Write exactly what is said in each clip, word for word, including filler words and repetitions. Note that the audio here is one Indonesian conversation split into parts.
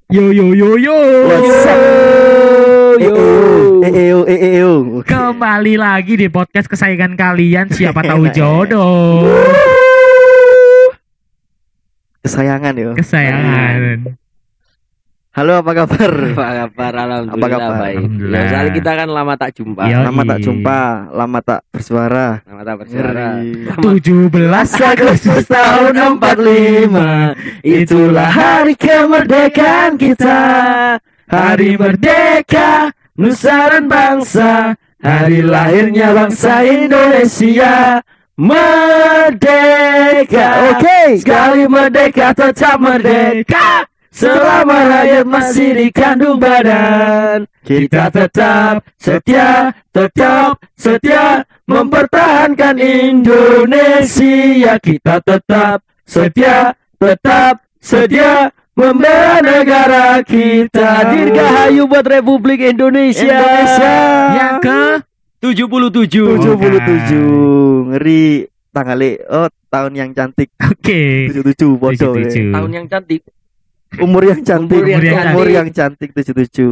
Yo yo yo yo. What's up? Yo. Eh eh yo eh eh yo. Kembali lagi di podcast kesayangan kalian, siapa tahu jodoh. Kesayangan yo. Kesayangan. Halo, apa kabar? Apa kabar? Alhamdulillah Apa kabar? baik. Alhamdulillah. Ya, soalnya kita kan lama tak jumpa. Iya. Lama tak jumpa, lama tak bersuara. Lama tak bersuara. Ngeri. Lama tujuh belas Agustus tahun empat puluh lima. Itulah hari kemerdekaan kita. Hari merdeka, nusa dan bangsa. Hari lahirnya bangsa Indonesia. Merdeka. Oke. Sekali merdeka tetap merdeka. Selama rakyat masih di kandung badan, kita tetap setia, tetap setia mempertahankan Indonesia. Kita tetap setia, tetap setia membela negara kita. Dirgahayu buat Republik Indonesia. Indonesia. yang ke tujuh puluh tujuh. tujuh puluh tujuh. Ngeri tanggal oh tahun yang cantik. Oke. tujuh puluh tujuh bodoh. tujuh puluh tujuh. Tahun yang cantik. Umur yang cantik, Umur yang umur cantik. yang cantik tujuh puluh tujuh.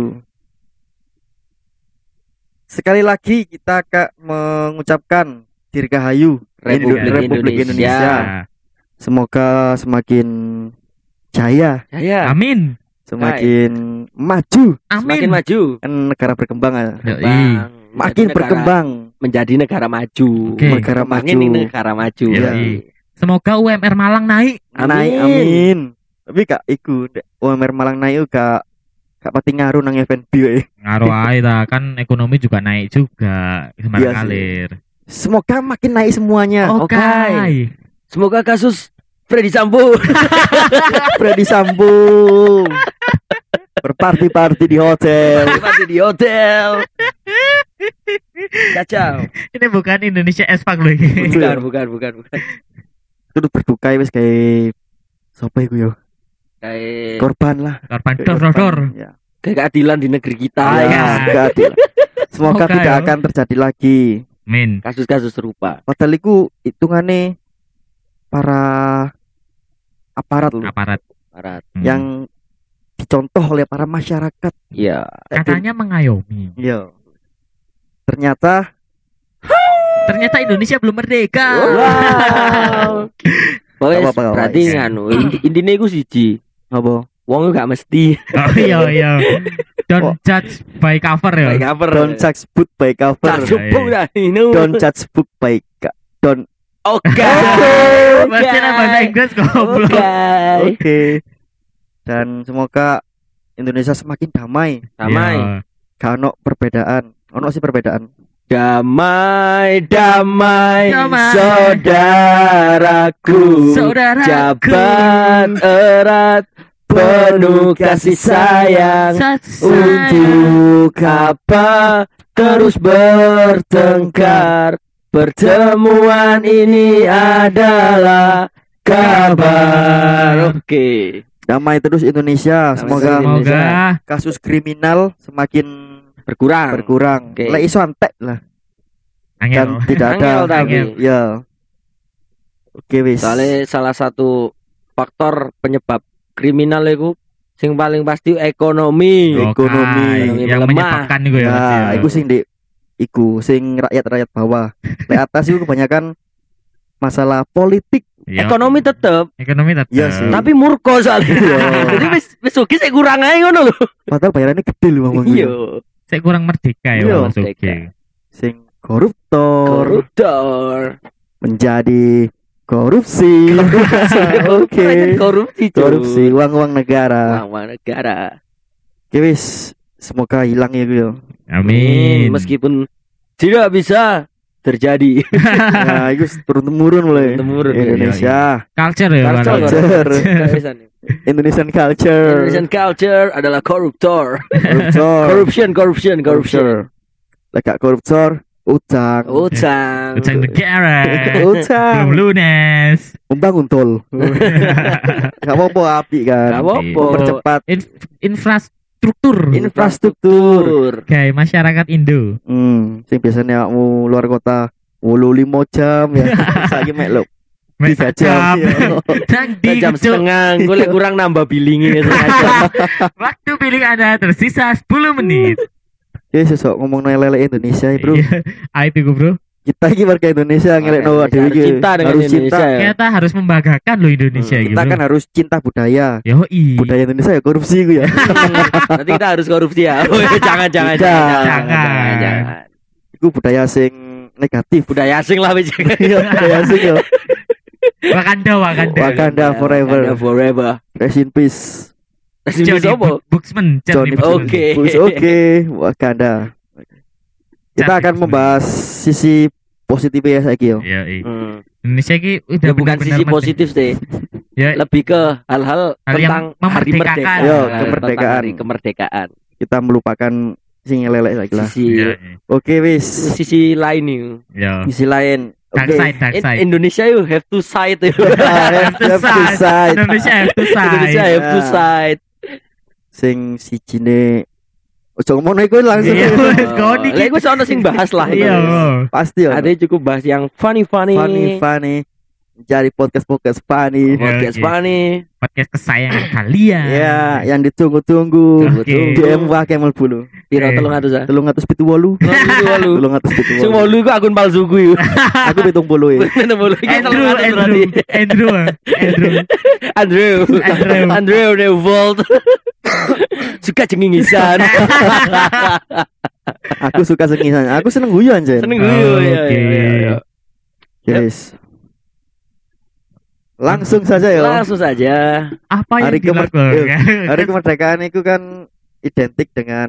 Sekali lagi kita akan mengucapkan Dirgahayu Republik Indo- Republik Indonesia. Indonesia. Semoga semakin jaya, Ya, Amin. semakin maju, semakin Amin. maju. kan negara berkembang ya. Yoi. Bang, Makin menjadi negara- berkembang. menjadi negara maju. Oke. Negara Kembangin maju. ini negara maju. Yoi. Ya. Semoga U M R Malang naik. Naik, amin. Tapi kak iku dek, U M R Malang naik kak kak pati ngaruh nang event bio eh. Ngaruh aja ta, kan ekonomi juga naik juga. Iya Sembarang sih. kalir. Semoga makin naik semuanya. Oke. Semoga kasus Freddy Sambo Freddy Sambo berparti-parti di hotel. masih di hotel. Kacau. Ini bukan Indonesia S-Pack loh ini. Bukan, bukan, bukan, bukan. Kudu berduka wis kayak sapa iku yo? Kayak Korban lah. Korban Kayak dor dor dor. korban, Ya. kayak keadilan di negeri kita Ya, ya. enggak adil. Semoga Semoga tidak ya. akan terjadi lagi. Min. Kasus-kasus serupa. Padahal iku hitungane para aparat loh Aparat. Barat. Hmm. yang dicontoh oleh para masyarakat. Iya. katanya mengayomi. Iya. Ternyata Ternyata Indonesia belum merdeka. Wow. Pokoknya Gak apa-apa, gak berarti apa-apa. nganu inti- intine iku siji. apa? Wong gak mesti Oh iya iya. Don't Oh. judge by cover ya. baik cover. Don't judge book by cover. Cak jupuk dah ini. Don't judge book by ka- don't. Oke. Bahasa bahasa Inggris goblok. Oke. Oke. Dan semoga Indonesia semakin damai. Damai. Iya. Gak ono perbedaan. Ono sih perbedaan. Damai, damai, Damai. saudaraku. Saudaraku. Jabat erat, penuh kasih sayang. Sat- Untuk apa terus bertengkar? Pertemuan ini adalah kabar. Oke. Damai terus Indonesia. Damai Semoga terus Indonesia. Semoga kasus kriminal semakin Berkurang. berkurang. Oke. Lek iso antek lah. angel. Dan tidak Angel ada. tapi. Angel. Ya. Oke wis. Soalnya salah satu faktor penyebab kriminal itu sing paling pasti ekonomi. Oh, ekonomi. Kai. yang melemah. menyebabkan itu ya. Mas, Ya, ya. iku sing di iku sing rakyat-rakyat bawah. Lek atas itu kebanyakan masalah politik. Iya. Ekonomi tetep, Ekonomi tetap. Iya sih. tapi murko soalnya. Iya. Jadi wis wis sugih sik kurang ae ngono lho. Padahal bayarannya gede loh Bang. Iya. Saya kurang merdeka ya Iya, Mas Oke. merdeka. Sing koruptor Koruptor. menjadi korupsi. Oke. Korupsi, cuy. Korupsi uang-uang negara. Uang negara. Oke wis, semoga hilang ya gue. ya. Amin. Meskipun tidak bisa terjadi. Nah, itu turun temurun mulai. Temurun, Indonesia, Culture ya. Culture, Bang. culture. Indonesian Indonesian culture. culture adalah koruptor. Koruptor. Corruption, corruption, corruption. Lekak koruptor, utang. Utang. Utang negara. Utang. Belum lunas. Membangun tol. Gak apa-apa api kan. Gak apa-apa. Mempercepat In- infrastruktur. infrastruktur. Kayak masyarakat Indo. Hmm, sing biasanya mau luar kota wolu limo jam ya. Saiki mek lho Mek tiga sak jam. jam. Yo. Nang di jam Cuk. setengah, gue lek kurang nambah billingnya setengah jam. Waktu pilih Anda tersisa sepuluh menit. Ya sesok ngomong lele Indonesia ya, Bro. Iya. Ah itu gue, Bro. Kita iki warga Indonesia ngelekno Warga dhewe Indonesia iki. harus cinta dengan Harus Indonesia cinta. ya. Kita harus membanggakan loh Indonesia Hmm, gitu. Kita kan harus cinta budaya. Yoi. Budaya Indonesia ya korupsi iku ya. Nanti kita harus korupsi ya. Oh, jangan, jangan, Jangan. jangan, Jangan. jangan, jangan. Iku budaya sing negatif. Budaya asing lah wis. Iya, budaya asing yo. Wakanda, Wakanda. Wakanda forever. Wakanda forever. Rest in peace. Kasih Johnny sopo? Bu- Buxman. Johnny Buxman. Oke. Bush, Oke, Wakanda. Kita Cantik akan semua. membahas sisi positifnya saiki yo. Iya, iya. Hmm. Indonesia ini udah Ya bukan benar-benar sisi merdeka. positif sih. Ya, Lebih ke hal-hal Hal tentang yang hari memerdekakan. merdeka. Yo, Tentang kemerdekaan. hari kemerdekaan. Kita melupakan sing lelek saiki lah. Sisi iya, Oke, wis. sisi lain nih. iya. Sisi lain. Dark Oke. side, dark In- side. Indonesia you have to side. Ah, have to side. Indonesia have to side. Indonesia have to Ah. side. Sing sijine ojo ngono iku langsung. Iya, wes, Oh, kau dikit. Lah iku sono sing bahas lah. Iya. Pasti yo. Ada cukup bahas yang funny funny. Funny funny. Cari podcast-podcast funny. Podcast Oke. funny. Podcast kesayangan kalian. Ya, yang ditunggu-tunggu. Oke. D M wa Kemal Bulu. Piro Oke. telung atus ah. Telung atus pitu wolu. Walu. Telung atus pitu Sing wolu. wolu iku akun palsu ku yo. Aku pitung puluh ya. Bener wolu iki Andrew, telung atus berarti. Andrew, Andrew, Andrew. Andrew. Andrew. Andrew Revolt. Suka cengingisan. Aku suka sengisan. Aku seneng guyu anjen. Seneng guyu ya. Oke. ya, ya. Yes. Langsung saja ya. Langsung saja. Apa yang Hari kemer- dilakukan? Hari kemerdekaan itu kan identik dengan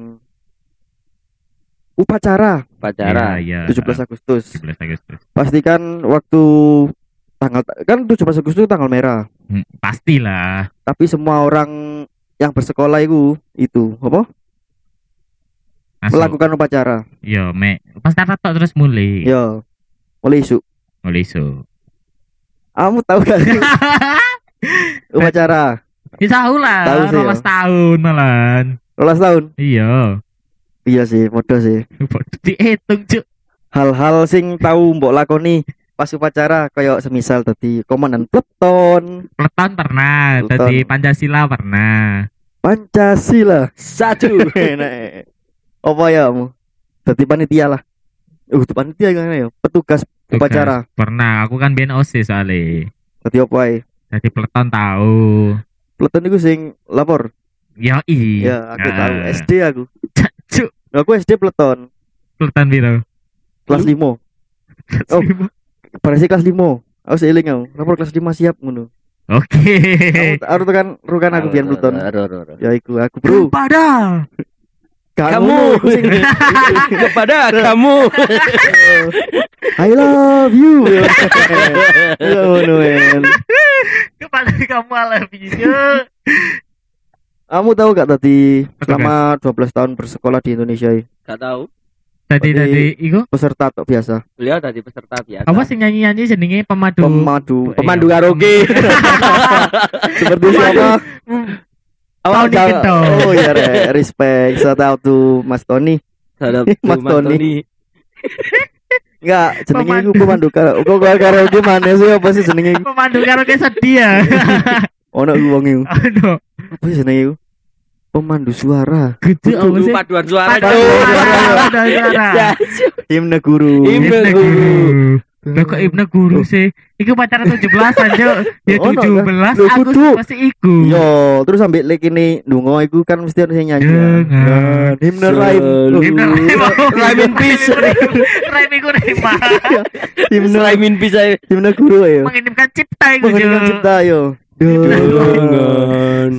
upacara Pacara. Iya, iya. tujuh belas Agustus. tujuh belas Agustus. Pastikan waktu tanggal kan tujuh belas Agustus itu tanggal merah. Hmm, pastilah. Tapi semua orang yang bersekolah itu itu apa? Masuk. Melakukan upacara. Yo, me. Pas tarat tok terus mulai. Yo. Mulai isu. Mulai isu. Kamu tahu gak sih upacara? Ya tahu lah, Tahu sih, rolas ya. tahun malan. Rolas tahun. Iya. Iya sih, modal sih. Dihitung, Cuk. Hal-hal sing tahu mbok lakoni pas upacara kayak semisal tadi komandan peleton, Peleton pernah, Peleton. tadi Pancasila pernah. Pancasila. Satu. Enak. Apa ya kamu? Tadi panitia lah. Uh, itu panitia gimana ya? Petugas Tugas. upacara. Pernah, aku kan biyen O S I S soalnya. Tadi apa ae? Tadi peleton tahu. Peleton itu sing lapor. Ya iya. Ya, aku tahu. S D aku. Cuk, Aku S D peleton peleton piro? kelas lima. Oh. Berarti kelas lima. Aku seiling aku. Lapor kelas lima siap ngono. Oke. Aku harus tekan rukan aku biar peleton. Aduh, aduh, aduh. Ya iku aku, Bro. Kepada Kamu. Kamu sing Kepada kamu. I love you. Ya ngono men. kepada kamu alam video. Kamu tahu gak tadi Petugas. selama dua belas tahun bersekolah di Indonesia ini, Gak tahu. Tadi Tadi- tadi iku peserta tok biasa, Beliau tadi peserta biasa. apa sih nyanyi-nyanyi jenenge pemadu pemadu, Pemandu Iya. karaoke. seperti siapa? Tony Jal- Gento. Oh ya, re, respect. Shout out to Mas Tony. Terhadap Mas Mas Tony. Tony. Enggak, jenenge Pemandu. iku pemandu karaoke. Kok karaoke mana sih apa sih jenenge? iku? pemandu karaoke sedih ya. Ono iku wong iku. Aduh, Apa sih jenenge iku? Pemandu suara. gede apa Dulu sih? paduan suara. Paduan Cuk. suara, paduan suara. Ya, Himne guru. Himne Ibnu guru. guru. Loh kok Ibnu guru sih? Iku pacaran tujuh belasan, Cuk. Ya Ono, kan? tujuh belas Loh, Agustus kudu. pasti iku. Yo, terus sampai lek ini ndonga iku kan mesti ada yang nyanyi. Dengan Himne lain. selalu. Ibnu Rhyme in peace. Rhyme iku rima. Himne Rhyme in peace aja. himne guru ya. Menginimkan cipta iku, Mengenang Cuk. cipta yo. Dengan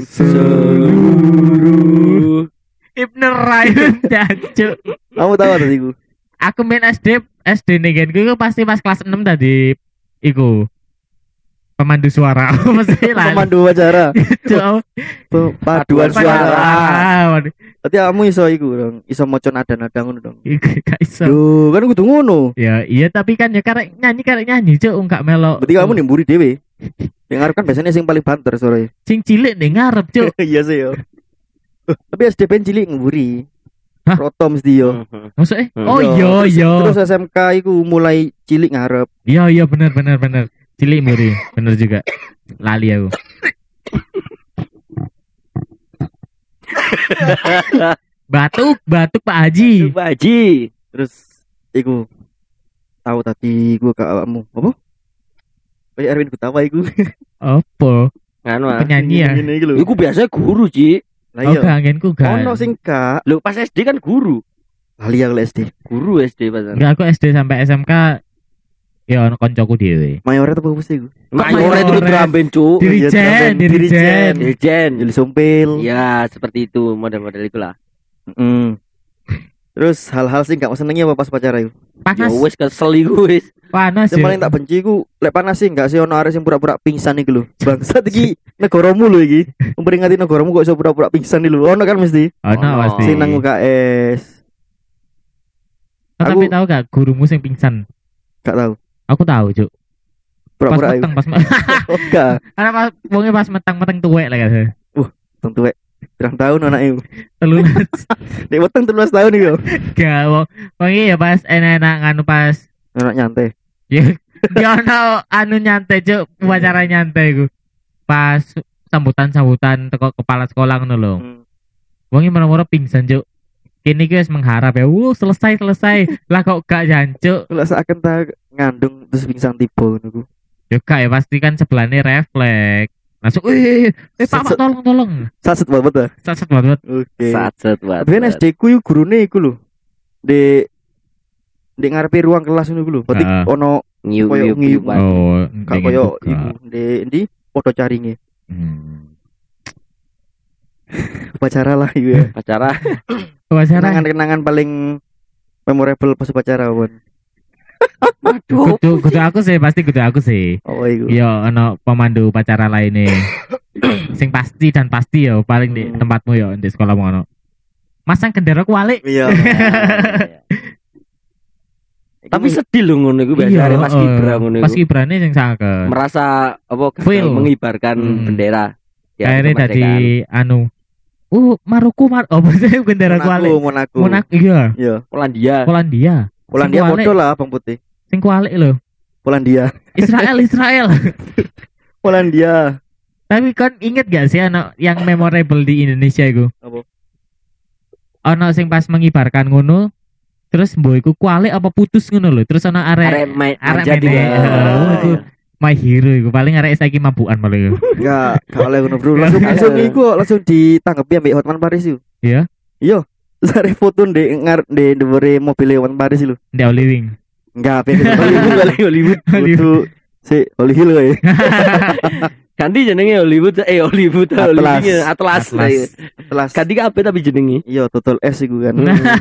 seluruh. Ibnu Rhyme Cuk. Kamu tahu tadi iku? Aku main S D S D negenku iku pasti pas kelas enam tadi iku pemandu suara. Mesti lah. Pemandu acara. Cuk. Paduan suara. Waduh, Berarti kamu iso iku dong, iso maca nada-nada ngono dong. iku gak iso. Yo, kan kudu ngono. Ya iya tapi kan ya karek nyanyi karek nyanyi Cuk enggak melok. Berarti kamu nimburi dhewe. Yang ngarep kan biasanya sing paling banter sore. Sing cilik ning ngarep Cuk. Iya sih yo. Tapi S D P cilik ngemburi. Hah? Roto mesti yo. Maksudnya? Hmm. Oh Yo, iya terus- iya. Terus S M K iku mulai cilik ngarep. Iya iya bener bener bener. Cilik mburi, bener juga. Lali aku. Batuk, batuk Pak Haji. Pak Haji. Terus iku tahu tadi gua ke awakmu. Apa? Kayak Erwin Gutawa iku. Apa? Nganu ah. Penyanyi ya. Ini iku lho. Iku biasa guru, Ci. Lah Oh, iya. kangenku kan. Ono sing gak Lho pas S D kan guru. lali aku S D. Guru S D pasan. Enggak, aku S D sampai S M K ya ono koncoku dhewe. Mayoret apa mesti iku? Mayoret itu Mayoret? dramben, Cuk. Dirijen, Dirijen. dirijen. Dirjen. Jeli sompil. Ya, seperti itu model-model itulah. Mm. Terus hal-hal sing gak mau senengi apa pas pacaran iku? Ya Panas, wis kesel iku wis. panas Yang ya. paling tak benci iku lek panas sih gak sih ono arek sing pura-pura pingsan iku lho. Bangsat iki negaramu lho iki. Memperingati negaramu kok iso pura-pura pingsan iki lho. Ono kan mesti. Ono Ono. pasti. Sing nang U K S. Oh, tapi Aku- tahu gak gurumu sing pingsan? Gak tahu. Aku tahu, Cuk. Pas Pura-pura iku. meteng, pas meteng. Oh, gak. Karena pas wonge pas meteng-meteng tuwek lah kan. Tentu wek. Pirang tahun anak iku. Telulas. Nek weteng telulas tahun iku. Gak, wong wonge ya pas enak-enak nganu pas Anak nyantai. ya gak ono anu nyantai, Cuk, upacara nyantai iku. Pas sambutan-sambutan teko kepala sekolah ngono lho. Hmm. Wonge moro-moro pingsan, Cuk. Kini guys mengharap ya, wuh selesai selesai lah kok gak jancuk. Kalau seakan tak ngandung terus pingsan tiba ngono ku. Ya gak ya pasti kan sebelahnya refleks. Langsung, eh, eh Pak, Pak, tolong tolong. Saset banget ah. Saset banget. Oke. Sacet banget. Tapi kan S D ku iku gurune iku lho. Di di ngarepe ruang kelas ngono iku lho. Berarti Heeh. ono Ngiu Koyo ngiu ngiu. ngiuan. Oh, gak pengen koyo buka. iku di endi padha caringe. Hmm. Upacara lah iku ya. Pacara. Upacara. Kenangan-kenangan paling memorable pas upacara pun. Aduh. Kudu kudu aku sih, pasti kudu aku sih. Oh iku. Yo ono pemandu upacara lainnya. Sing pasti dan pasti ya paling di Hmm. tempatmu ya di sekolahmu ono. Masang gendera kualik. Iya. Tapi Iku- sedih loh ngono iku biasa Iya, arek Mas eh, Kibra ngono Pas iku. kibrane sing sangat. Merasa apa gagal Feel. mengibarkan Hmm. bendera. Ya, Akhirnya tadi kemerdekaan. anu. Uh, Maruku mar oh maksudnya gendera Monaco, kualik. Monaco. Monak iya, Iya. Polandia. Polandia. Polandia Sing kualik. foto lah Bang Putih. Sing kualik lho. Polandia. Israel, Israel. Polandia. Tapi kan inget gak sih anak yang memorable di Indonesia itu? Apa? Ono sing pas mengibarkan ngono, terus mbok iku kualik apa putus ngono lho. Terus ono Arek arek main arek manja mene. juga. Heeh, iku my hero iku paling arek saiki mabukan malah iku. Enggak, gak oleh ngono, Bro. Langsung langsung iku langsung ditanggapi ambek Hotman Paris yuk. Iya? Iya. Sare foto ndek ngar ndek ndewere mobil Hotman Paris lho. Ndek Oli Wing. Enggak, beda Hollywood kali Hollywood. Kudu si Hollywood kowe. Ganti jenenge Hollywood eh Hollywood Atlas. Hollywood Atlas. Atlas. Telas. Ganti kabeh tapi jenenge. Iya, total S iku kan.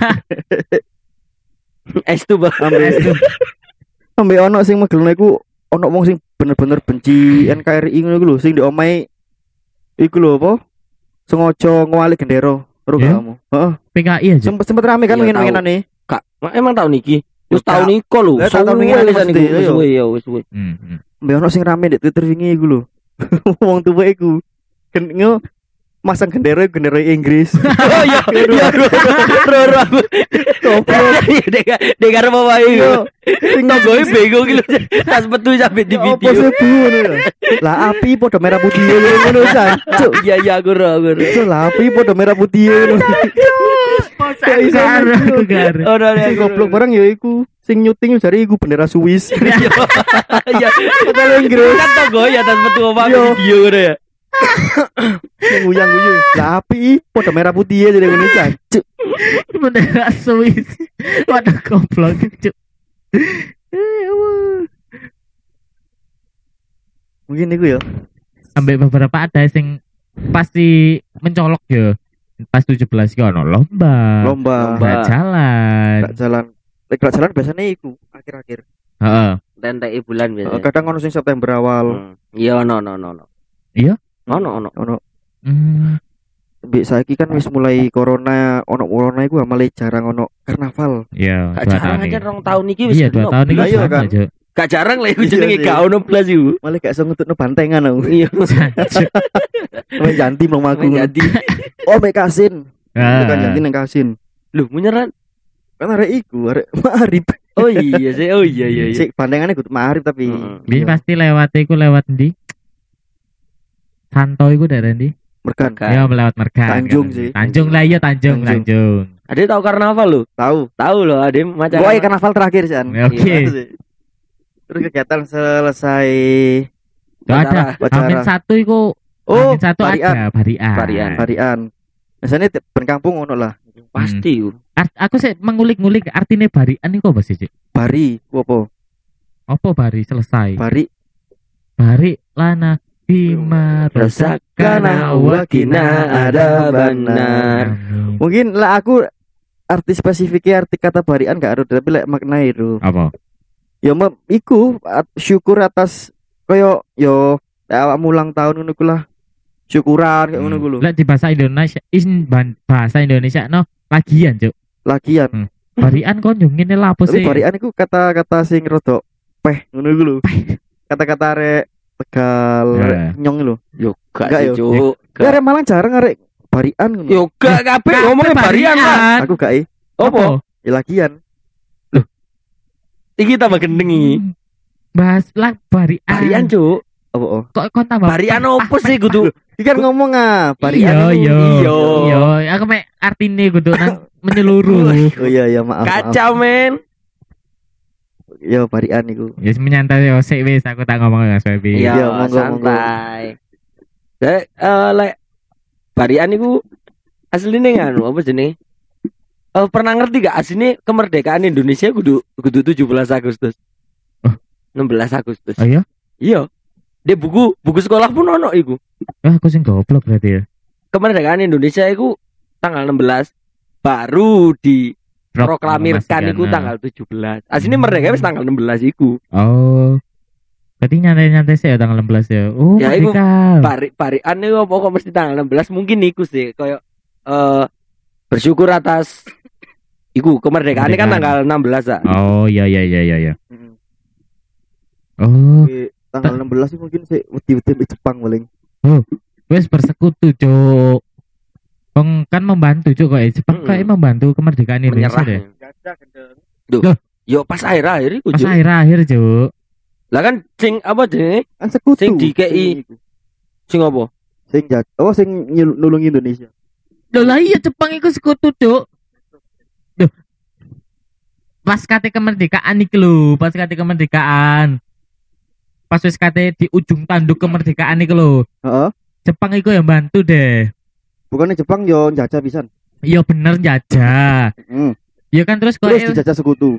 S tuh Bang. Ambek ambek ono sing megelno iku ono wong sing bener-bener benci N K R I ngono iku lho, sing di omahe iku lho apa? Sengaja ngwalik gendera. Ro Iya? kamu. Heeh. P K I aja. Sempet sempet rame kan Iya, pengen-pengenane. Kak, emang tahun iki. Wis Kak. tahun iko lho. Lah, tahun Suwe iki kan wisan mesti, iku. Wis iya. suwe ya, wis suwe. Hmm, hmm. Mbak ono sing rame di Twitter wingi iku lho. Wong tuwa iku. Gen ngo masang gendera gendera Inggris. Oh iya, iya. Ro ro aku. Goblok. Dek dek karo bawa iku. Sing Tonggoe bego iki lho. Tas metu sampe di Apa video. sih bu ngono lho. Lah api padha merah putih ngono jancuk. Iya iya aku ro aku ro. Cuk, lah api padha merah putih ngono. Gak iso aku gar. Oh ro Sing goblok barang ya iku. Sing nyuting jare iku bendera Swiss. Iya. Padahal Inggris. Kan tonggoe ya tas metu apa Iya. video ngono ya. Sing guyang-guyu. Lah api padha merah putih jadi ngono jancuk. Bendera Swiss. Waduh goblok cuk. Eh, aduh. Mungkin iku ya. Sampai beberapa ada sing pasti mencolok ya. Pas tujuh belas ki ono lomba. Lomba. Lomba. Gak jalan. Gak jalan. Lek gak jalan biasanya iku akhir-akhir. Heeh. Tenteki bulan Eh, biasa. Kadang ono sing September awal. Hmm. Iya ono ono ono. Iya? Ono ono. Ono Hmm. Mbek saiki kan wis mulai corona, ono corona iku amale jarang ono karnaval. Iya, Gak dua jarang tahun aja ini. rong tahun iki wis Iya, dua genep. tahun ini Lah iya sama kan? aja. Gak jarang lah iku Iya jenenge sih. gak ono blas iku. Malah gak iso ngetutno bantengan aku. Iya. Jancuk. Main janti mau aku. Jadi Oh, mek Kasin. Itu kan Ah. janti nang Kasin. lho menyeran Kan arek iku, arek Ma'arif. Oh iya sih, oh iya iya iya. Sik pandangannya kudu Ma'arif tapi. Heeh. Biyen Iya. pasti lewat iku lewat ndi? Santo iku daerah ndi? Merkan. Merkan. Ya lewat Mergan. Tanjung kan. sih. Tanjung lah iya Tanjung, Tanjung. Tanjung. Ade tahu karnaval lo? Tahu. Tahu loh, Ade macam. Gua karnaval terakhir sih. An. Ya, Oke. Itu sih. Terus kegiatan selesai. Gak ada. Acara. Amin satu iku. Oh, Amin satu Barian. ada Barian. Barian. Varian. Biasanya tiap ben kampung ngono lah. Pasti yo. Art- aku sih mengulik-ngulik artinya Barian iku apa sih, Cik? Bari, ku apa? Apa bari selesai? Bari. Bari lana bima Rasakana wakina ada benar. Amin. Mungkin lah aku arti spesifiknya arti kata barian gak ada tapi lek makna itu. Apa? Ya mem, iku at- syukur atas koyo yo awakmu ulang tahun ngono ku lah. Syukuran kayak ngono ku lho. Lek di bahasa Indonesia, in ban- bahasa Indonesia no lagian, Cuk. Lagian. Hmm. Barian kon yo ngene lah apa Tapi sih? barian iku kata-kata sing rodok peh ngono ku lho. Kata-kata arek Tegal, Ya. arek nyong lho. Yo gak Enggak, sih, yo. Cuk. Ya arek Malang jarang arek barian ngono. Yo gak kabeh ngomongnya barian lah. Aku gak eh, Apa? ya lagian. Iki tambah gendeng iki. Bahas lah barian. Barian, Cuk. Apa oh? Kok kon tambah Barian peh, opo ah, sih peh, kudu? Iki kan ngomong ah, Iya, barian. iya, iku. Iya. iya. Aku mek artine kudu nang menyeluruh. Oh iya iya maaf. maaf. Kacau, men. Ya barian iku. Ya menyantai yo sik wis aku tak ngomong Mas Febi. Iya, Iya, monggo, santai. Dek, eh lek barian iku asline nganu apa jenenge? Eh pernah ngerti gak asline kemerdekaan Indonesia kudu kudu tujuh belas Agustus. Oh. enam belas Agustus. Oh iya? Iya. Di buku buku sekolah pun ono iku. Ah, aku sing goblok berarti ya. Kemerdekaan Indonesia iku tanggal enam belas baru di Prok- proklamirkan memastikan, iku nah. tanggal tujuh belas. Asline Hmm. merdeka wis tanggal enam belas iku. Oh. Berarti nyantai-nyantai sih ya tanggal enam belas ya. Oh, Ya, iku merdeka. Pari parian iku apa kok mesti tanggal enam belas mungkin iku sih koyo eh bersyukur atas iku kemerdekaan kan Kemerdekaan. tanggal enam belas ah. Oh, iya iya iya iya iya. Heeh. Oh, Tanggal enam belas sih mungkin sih wedi-wedi di Jepang paling. wes bersekutu, Cuk. Wong kan membantu, Cuk, kok ya. Jepang Mm-mm. kayak membantu kemerdekaan Indonesia Menyerah. deh. Gendeng. Yo pas akhir-akhir iku Pas Cuk. akhir-akhir, Cuk. Lah kan sing apa jenenge? Kan sekutu. Sing di K I. Sing iku. Sing apa? Sing jat. Oh sing nyul- nulungi Indonesia. Loh lah iya Jepang iku sekutu, Cuk. Duh. Pas kate kemerdekaan iki lho, pas kate kemerdekaan. Pas wis kate di ujung tanduk kemerdekaan iki lho. Heeh. Jepang iku yang bantu deh. Bukannya Jepang yo njajah pisan. Iya bener jajah. Heeh. Iya kan terus kok Terus dijajah sekutu.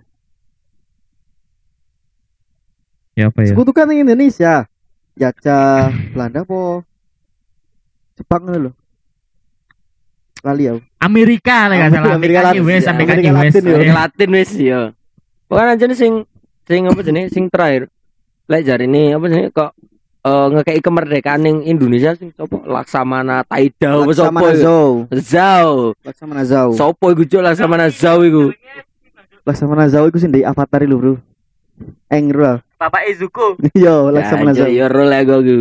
ya apa ya? Sekutu kan yang Indonesia. Jajah Belanda po. Jepang ngono lho. Lali ya. Amerika lah gak salah. Amerika Amerika Latin, wes ya. sampai Amerika Kanye West. Latin, ya. Sing Latin wis yo. Bukan aja nih sing sing apa jenenge sing terakhir. Lek jari ini apa jenenge kok eh ngekei kemerdekaan ning Indonesia sing sopo Laksamana Taida apa sopo Laksamana iku? Zhou. Zhao. Laksamana Zhou. Sopo iku Cuk Laksamana Zhao iku? Laksamana Zhao iku sing dari Avatar lho, Bro. Engro. Bapak Izuku. Yo, Laksamana Ya, Zhou. ya role aku iku.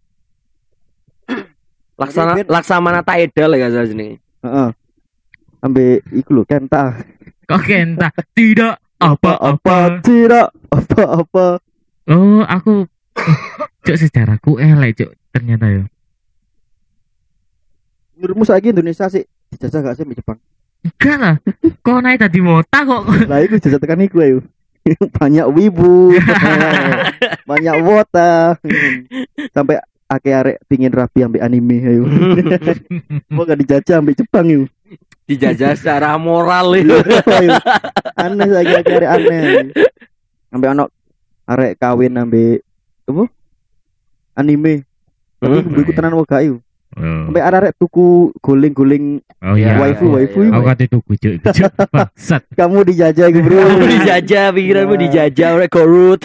Laksana Laksamana Taida lah gak salah jenenge. Heeh. Ambe iku lho Kenta. Kok kenta tidak apa-apa. Tidak apa-apa. Oh, aku Cuk sejarahku elek, Cuk. Ternyata ya. Menurutmu saiki Indonesia sih dijajah gak sih sama Jepang? Enggak lah. Kok naik tadi mota kok. Lah iku jajah tekan iku ayo. Banyak wibu. Banyak wota. Sampai ake arek pingin rapi ambek anime ayo. Mau gak dijajah ambek Jepang yuk. Dijajah secara moral itu. Aneh lagi lagi arek aneh. Ambek anak arek kawin ambek apa? Anime. Tapi Hmm. iku tenan wae yuk. Oh, Sampai arek tuku guling-guling oh Ya, iya. waifu ya, waifu ya. iku. Aku kate tuku, Cuk. Cuk, bangsat. Kamu dijajah iku, Bro. Kamu dijajah, pikiranmu dijajah oleh korut.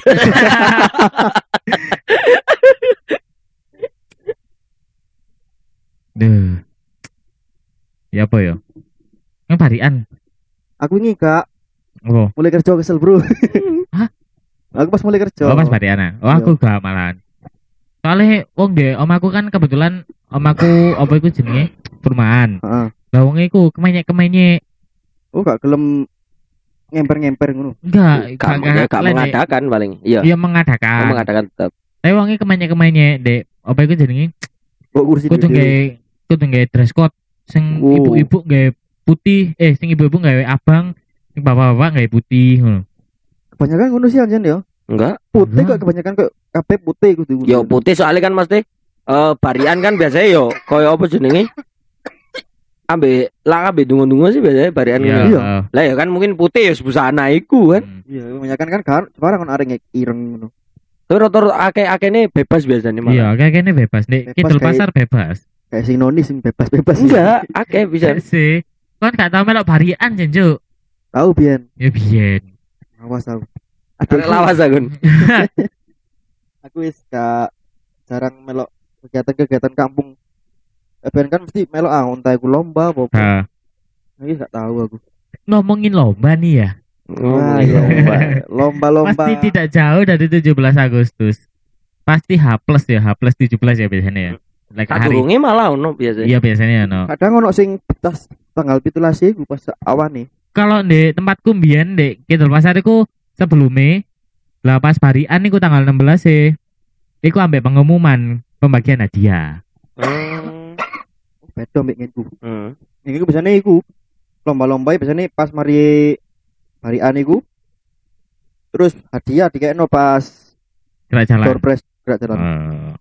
Duh. Ya apa ya? Yang barian. Aku ini Kak, Oh, mulai kerja kesel, Bro. Hah? Aku pas mulai kerja. oh pas barian. Oh, aku gak malahan. Soalnya wong nggih, omaku kan kebetulan omaku apa iku jenenge? Perumahan. Heeh. Lah wong iku kemenyek-kemenyek. Oh, gak gelem ngemper-ngemper ngono. Enggak, Gak, ya, gak mengadakan paling. Iya. Iya mengadakan. Mengadakan tetap. Tapi wonge kemanya-kemanya Dek. Apa iku jenenge? Kok kursi Kudu dhewe. gawe kudu gawe dress code sing Oh. ibu-ibu gawe putih, eh sing ibu-ibu gawe abang, sing bapak-bapak gawe putih ngono. Kebanyakan ngono sih anjen ya. Enggak. Putih Enggak. kok kebanyakan kok kabeh putih kudu. Yo putih soalnya kan mesti eh barian kan biasanya yo koyo apa jenenge? Ambe lah ambe dungu-dungu sih biasanya barian Iya. ngono. Iya. Lah ya kan mungkin putih ya busana iku kan. Hmm. Iya, kebanyakan kan kan sekarang kan areng ireng ngono. Tapi rotor akeh-akene bebas biasanya Iya, malah. kayak gini bebas. Dek, Bebas Kidul kayak- pasar bebas. Kayak sing noni sing bebas-bebas. Enggak, akeh bisa. Sih. Kan gak tau melok barian jenjuk. Tahu biyen. Ya biyen. Awas tahu. Arek lawas Agun. Aku wis gak jarang melok kegiatan-kegiatan kampung. Ben kan mesti melok ah entah iku lomba apa apa. Nah, Iki gak tahu aku. ngomongin lomba nih ya. Oh, Wah, iya. lomba. Lomba-lomba. Pasti tidak jauh dari tujuh belas Agustus. Pasti H plus ya, H plus tujuh belas ya biasanya ya. Like Tak hari. durunge malah ono biasa. Iya biasanya no. Kadang ono sing tas tanggal pitulasi iku pas awan nih. Kalau di tempatku mbiyen di Kidul Pasar iku sebelumnya lah pas barian iku tanggal enam belas sih. Iku ambek pengumuman pembagian hadiah. Hmm. Beda mbek nginku. Hmm. Nginku biasanya iku lomba-lomba biasanya pas mari barian iku. Terus hadiah dikekno pas Gerak jalan. door prize gerak jalan. Eh,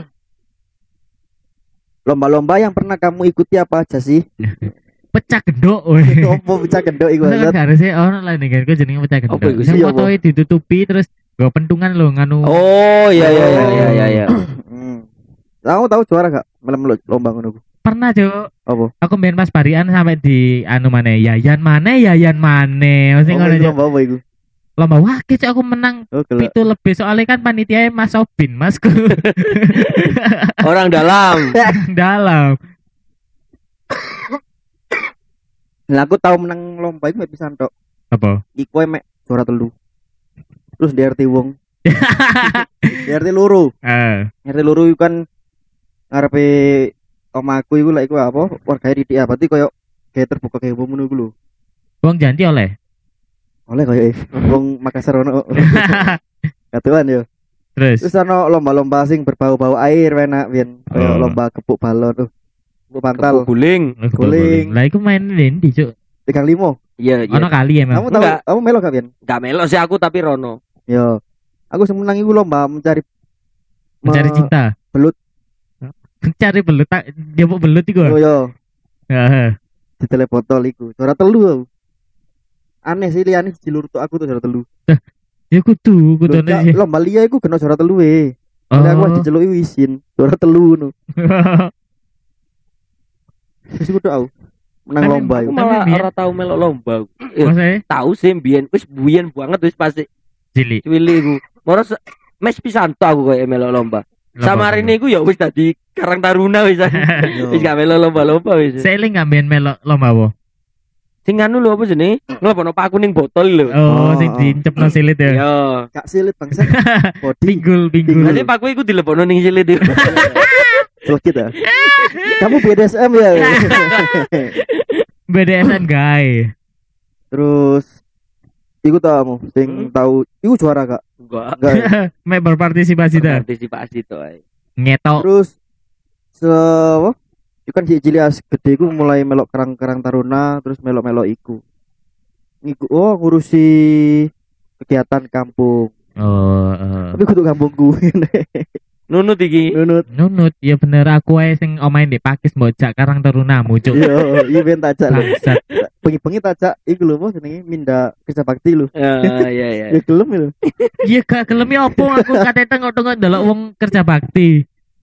Lomba-lomba yang pernah kamu ikuti apa aja sih? pecah gendok weh. Opo bisa gendok iku. Masa kan Zat? gak harusnya orang lain nih kan gue jenenge pecah gendok. Apa iku Sing sih, fotoe ditutupi terus gue pentungan lo nganu. Oh, iya iya iya iya iya iya. Hmm. Tahu tahu juara gak? Melem lomba ngono ku. Pernah Jo. Apa? Aku main pas barian sampai di anu mana Yayan mana Yayan mana. Mesti Oh, ngono itu Jo. lomba apa iku? Lomba wah kecok aku menang Oh, gelap. itu lebih soalnya kan panitia Mas Sobin Masku Orang dalam. dalam. Lah aku tahu menang lomba iku mek pisan tok. Apa? Iku mek juara telu. Terus di R T wong. Di R T loro. Eh, R T loro iku kan ngarepe omaku iku lek iku apa? Wargae didik apa? Berarti koyo kayak terbuka kayak wong ngono iku lho. Wong janti oleh. Oleh koyo eh wong Makassar ono. Katuan yo. Terus Terus ono lomba-lomba sing berbau-bau air enak biyen. Kayak Oh. lomba kepuk balon tuh. Kepuk pantal. Kepuk guling. guling. Lah iku main ndi Cuk? tiga lima. Iya iya. Ono kali emang. Kamu tahu Enggak. kamu melok gak biyen? Gak melok sih aku tapi Rono. Yo. Aku semenang iku lomba mencari Mencari me- cinta. belut. Mencari belut tak dia mau belut iku. Oh yo, Heeh. di telepotol iku. Juara telu aku. Aneh sih liyane jilur tok aku tuh juara telu. Ya kudu kudu Loh, Cak, sih. lomba liya iku kena juara telu e. Oh. Jadi aku diceluki isin, juara telu ngono. Wis kudu aku. Menang Tapi lomba Aku iku. Tapi malah biyen- ora tau melok lomba. Eh, Maksudnya tahu sih biyen wis biyen banget wis pasti cilik. cilik iku. Moro se- mes pisan tok aku koyo melok lomba. Sama ini iku ya wis dadi Karang Taruna wis. Yo. Wis gak melok lomba-lomba wis. Saya eling ngambil melok lomba apa? Sing anu lho apa jenenge? Ngelebono paku ning botol lho. Oh, Oh, sing oh. diincepno silit ya. Yo. Gak silit bangsa. Body Pinggul, pinggul. Berarti paku iku dilebono ning silit iku. selekit ya. Kamu B D S M ya. B D S M guy. Terus iku tau kamu sing Hmm. tahu iku juara gak? Enggak. Enggak. ya? Mek berpartisipasi dah. Partisipasi to ae. Ngetok. Terus se apa? Iku kan cilik as gede iku mulai melok Karang-Karang Taruna, terus melok-melok iku. Iku oh ngurusi kegiatan kampung. Oh, eh. Tapi kudu kampungku. Nunut iki. Nunut. Nunut ya bener aku ae sing omain di Pakis mbojak Karang Tarunamu cuk. Yo, event tajak lho. Bangsat. Bengi-bengi tajak iku lho apa jenenge Minda Kerja Bakti lho. Ya ya ya. Ya gelem lho. Iya gak gelem ya opo aku kate tengok-tengok ndelok wong kerja bakti.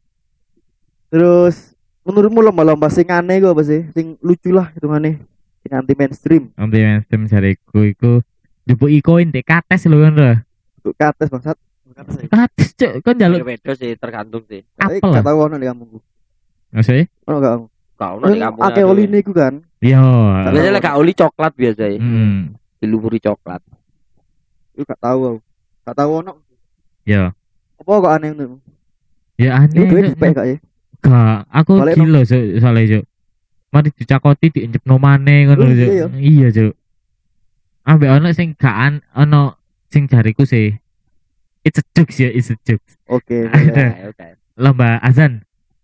Terus menurutmu lomba-lomba sing aneh iku apa sih? Sing lucu lah hitungane. Sing anti mainstream. Nanti mainstream jariku iku njupuk ikoin dek kates lho kan lho. Untuk kates bangsat. Kates. Kates cuk kan njaluk Beda sih tergantung sih. Tapi apel. gak tau ono di kampungku. Maksudnya? Ono gak kamu? Kau ono di kampung. Akeh oline iku kan. Iya. Biasanya lek gak oli coklat biasa ya. Hmm. Dilumuri coklat. Iku gak tahu aku. Gak tahu ono. Ya. Apa kok aneh ngono? Ya Iku duwe aneh. dipek gak ya? Gak, aku Balik gila so, soalnya cuk. Mari dicakoti diinjepno maneh ngono Oh, cuk. iya, ya? Iya cuk. Ambek ono sing gak an- ono sing jariku sih. It's a jokes ya, it's a jokes. Oke. Ada. Oke, oke. Lomba azan.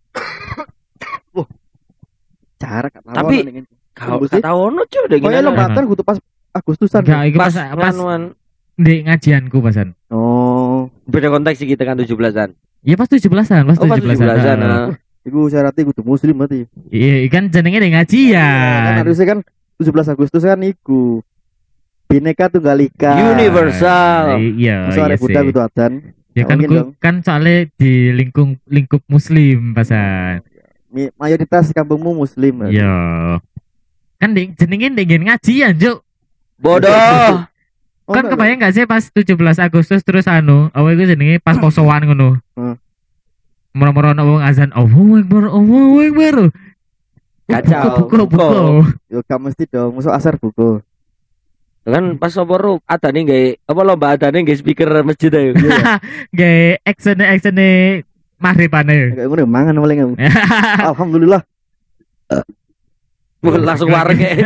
Cara gak tahu. Tapi- ono ning- Kau Tembus sih. tahu ono cuy udah Oh ya gini. lomba kan kudu pas Agustusan. Enggak, iki Pas pas pas nganuan. di ngajianku pasan. Oh, Beda konteks sih kita kan tujuh belasan. Iya pas tujuh belasan, pas Oh pas tujuh tujuh belasan. belasan. ah. iku syaratnya kudu muslim berarti. Iya, kan jenenge di Kan ngajian. harusnya kan tujuh belas Agustus kan iku Bhinneka Tunggal Ika. Universal. Iya, Masa iya ada Buddha sih. itu adzan. Ya kan Mungkin ku- dong. kan soalnya di lingkung lingkup muslim pasan. Mi- Mayoritas kampungmu muslim. berarti. Iya. Kan di jenenge di ngajian, Juk. Bodoh. Oh, Kan enggak, kebayang gak sih pas tujuh belas Agustus terus anu, apa itu jenenge pas posoan ngono. Hmm. Moro-moro ana wong azan, Allahu Akbar, Allahu Akbar. Kacau. Buku, buku. Buku. Yo gak mesti dong, musuh asar buku. Kan pas sopo ru adane gawe apa lomba adane gawe speaker masjid ayo. Gawe action action maghribane. Kayak ngono mangan paling aku. Alhamdulillah. Langsung wareg kayak.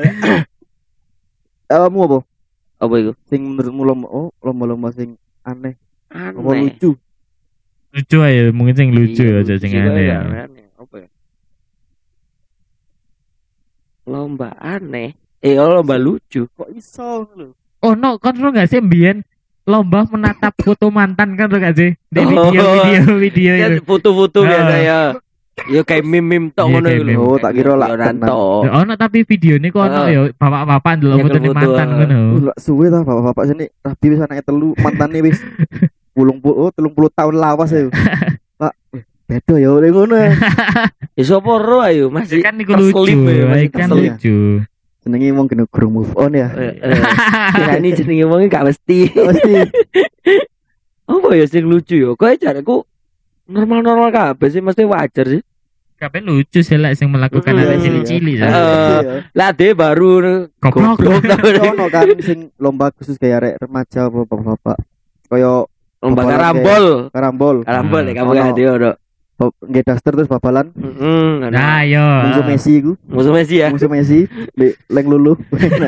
Kamu apa? Apa itu? Sing menurutmu lomba oh lomba-lomba sing aneh, apa Aneh. lucu? Lucu aja, mungkin sing lucu Iya, aja sing lucu aneh. kayak ya. aneh. Apa ya? Lomba aneh. Eh, oh, lomba lucu. Kok iso lho? Oh no, kan lo gak sih mbien lomba menatap foto mantan kan lo gak sih? Di Oh. video video video Kan itu. foto-foto Ah. biasa ya. Ya kayak meme-meme tok Iya, ngono kayak iku lho. meme. Oh, tak kira lah Yo, Ranto. Ya, ono tapi video ini kok ono Ah. ya bapak-bapak ndelok Nyekel foto foto, mantan ah. ngono. Uh, lah suwe ta bapak-bapak sini rapi wis anake telu mantane wis pulung puluh oh, telung puluh tahun lawas ya. Pak, eh, beda ya oleh ngono. Ya sapa ro ayo masih Kan iku lucu, terselip ya, masih kan terselip. lucu. Senenge wong kena gurung move on ya. Eh, eh. Kira ini jenenge wong gak mesti. Pasti. Apa ya sing lucu ya? Kok jareku normal-normal kabeh sih mesti wajar sih. Kabeh lucu sih lek sing melakukan Hmm. ada cili-cili. Eh, Iya. Lah de baru Goblok. Ono kan sing lomba khusus kayak arek remaja apa bapak-bapak. Kaya lomba Bapak karambol. karambol. Karambol ya kamu Ono. gak ada ono. Bab- Nggih daster terus babalan Heeh. Nah, yo. musuh Messi iku. Musuh Messi ya. Musuh Messi di leng lulu.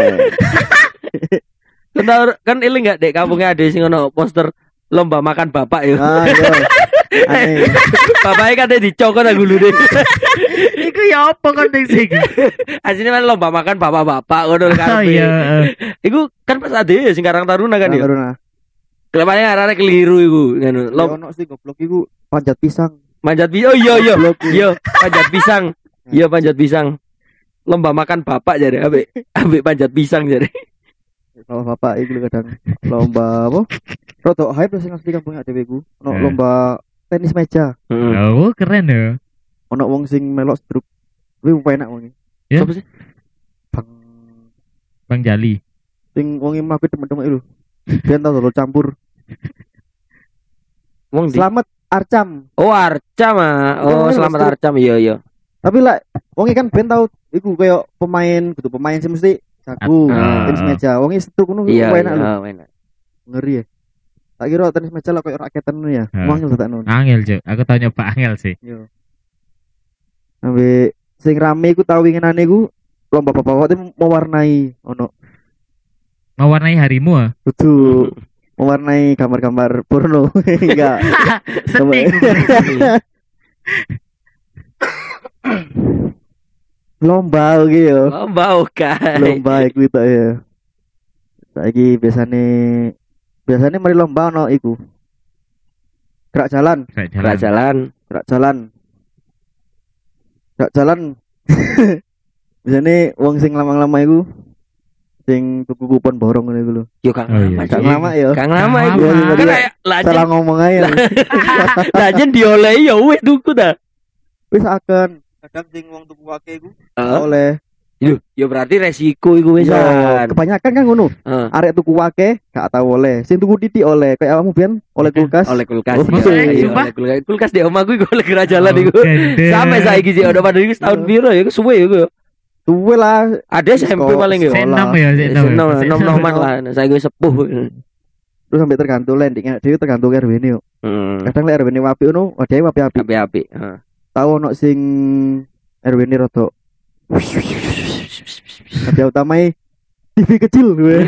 Kan tau- kan iling gak dek kampungnya ada sing ono poster lomba makan bapak ya. Ah iya. Aneh. Bapaknya kan dicokot aku dulu deh. Iku ya apa kon sing? Aslinya kan lomba makan bapak-bapak ngono Oh kan. iya. Iku kan pas ade sing Karang Taruna kan ya. Karena Kelepane arane keliru iku ngono. lom Lom ono sih goblok iku panjat pisang. manjat pisang. Oh iya iya. Goblok. Iya, panjat pisang. Iya panjat pisang. Lomba makan bapak jadi ambek ambek panjat pisang jadi. Kalau bapak iku lho kadang lomba apa? Rodok hype sing asli kampung dhewe ku. Ono Eh. lomba tenis meja. Heeh. Oh, keren ya. Ono wong sing melok struk. Kuwi enak wong iki. Ya. Sopo sih? Bang Bang Jali. sing wong iki mlaku temen-temen iku. Ben tau dulu campur. Wong di. Selamat Arcam. Oh, Arcam ah. Oh, Oh, selamat Mas. Arcam. Iya iya. Tapi lah wong iki kan ben tau iku koyo pemain kudu pemain sih mesti jago Ah. tenis meja. Wong iki struk ngono Iya, enak lho. iya, enak. Ngeri ya. Tak kira tenis meja lah koyo raketan ngono ya. Ah. Wong tak ngono. Angel, Cuk. Aku tau nyoba angel sih. Yo. Ambe sing rame iku tau winginane iku lomba bapak-bapak itu mewarnai ono Mewarnai harimu ah. kudu mewarnai gambar-gambar porno. Enggak. Sedih. Lomba iki yo. Lomba oke. Lomba iku itu ya. Saiki biasane biasane mari lomba ono iku. Gerak jalan, Kayak Gerak jalan. jalan. gerak jalan. Gerak jalan. Biasane wong sing lama-lama iku sing tuku kupon borong ngono iku lho. Yo Kang Oh, iya. lama. Kang Cik. lama ya. Kang lama Kang iku. lama. Kan kayak lajen Salah ngomong aja. lajen diolehi ya wis tuku ta. Wis akan kadang sing wong tuku akeh iku Heeh. oleh Yo, yo berarti resiko iku Iya, wisan. kebanyakan kan ngono. Heeh. Arek tuku akeh gak tau oleh. Sing tuku titik oleh. Kayak awakmu biyen oleh kulkas. Oleh kulkas. Oh, iya. maksudnya, Iya, sumpah? oleh kulkas. Kulkas di omahku iku oleh gerak jalan Oh, iku. gede. Sampai saiki sih udah pada iku setahun piro ya iku suwe iku. Tuwe lah. Ada S M P Sekolah- paling yo. sekolah. Senam ya, senam. Nom nom noman lah. Saiki wis sepuh. Terus sampai tergantung landing dhewe tergantung R W ne yo. Heeh. Kadang lek R W ne wapi ngono, wadah wapi-wapi. Api-api. Heeh. Tahu ono sing R W ne rodok. Hadiah utamai T V kecil.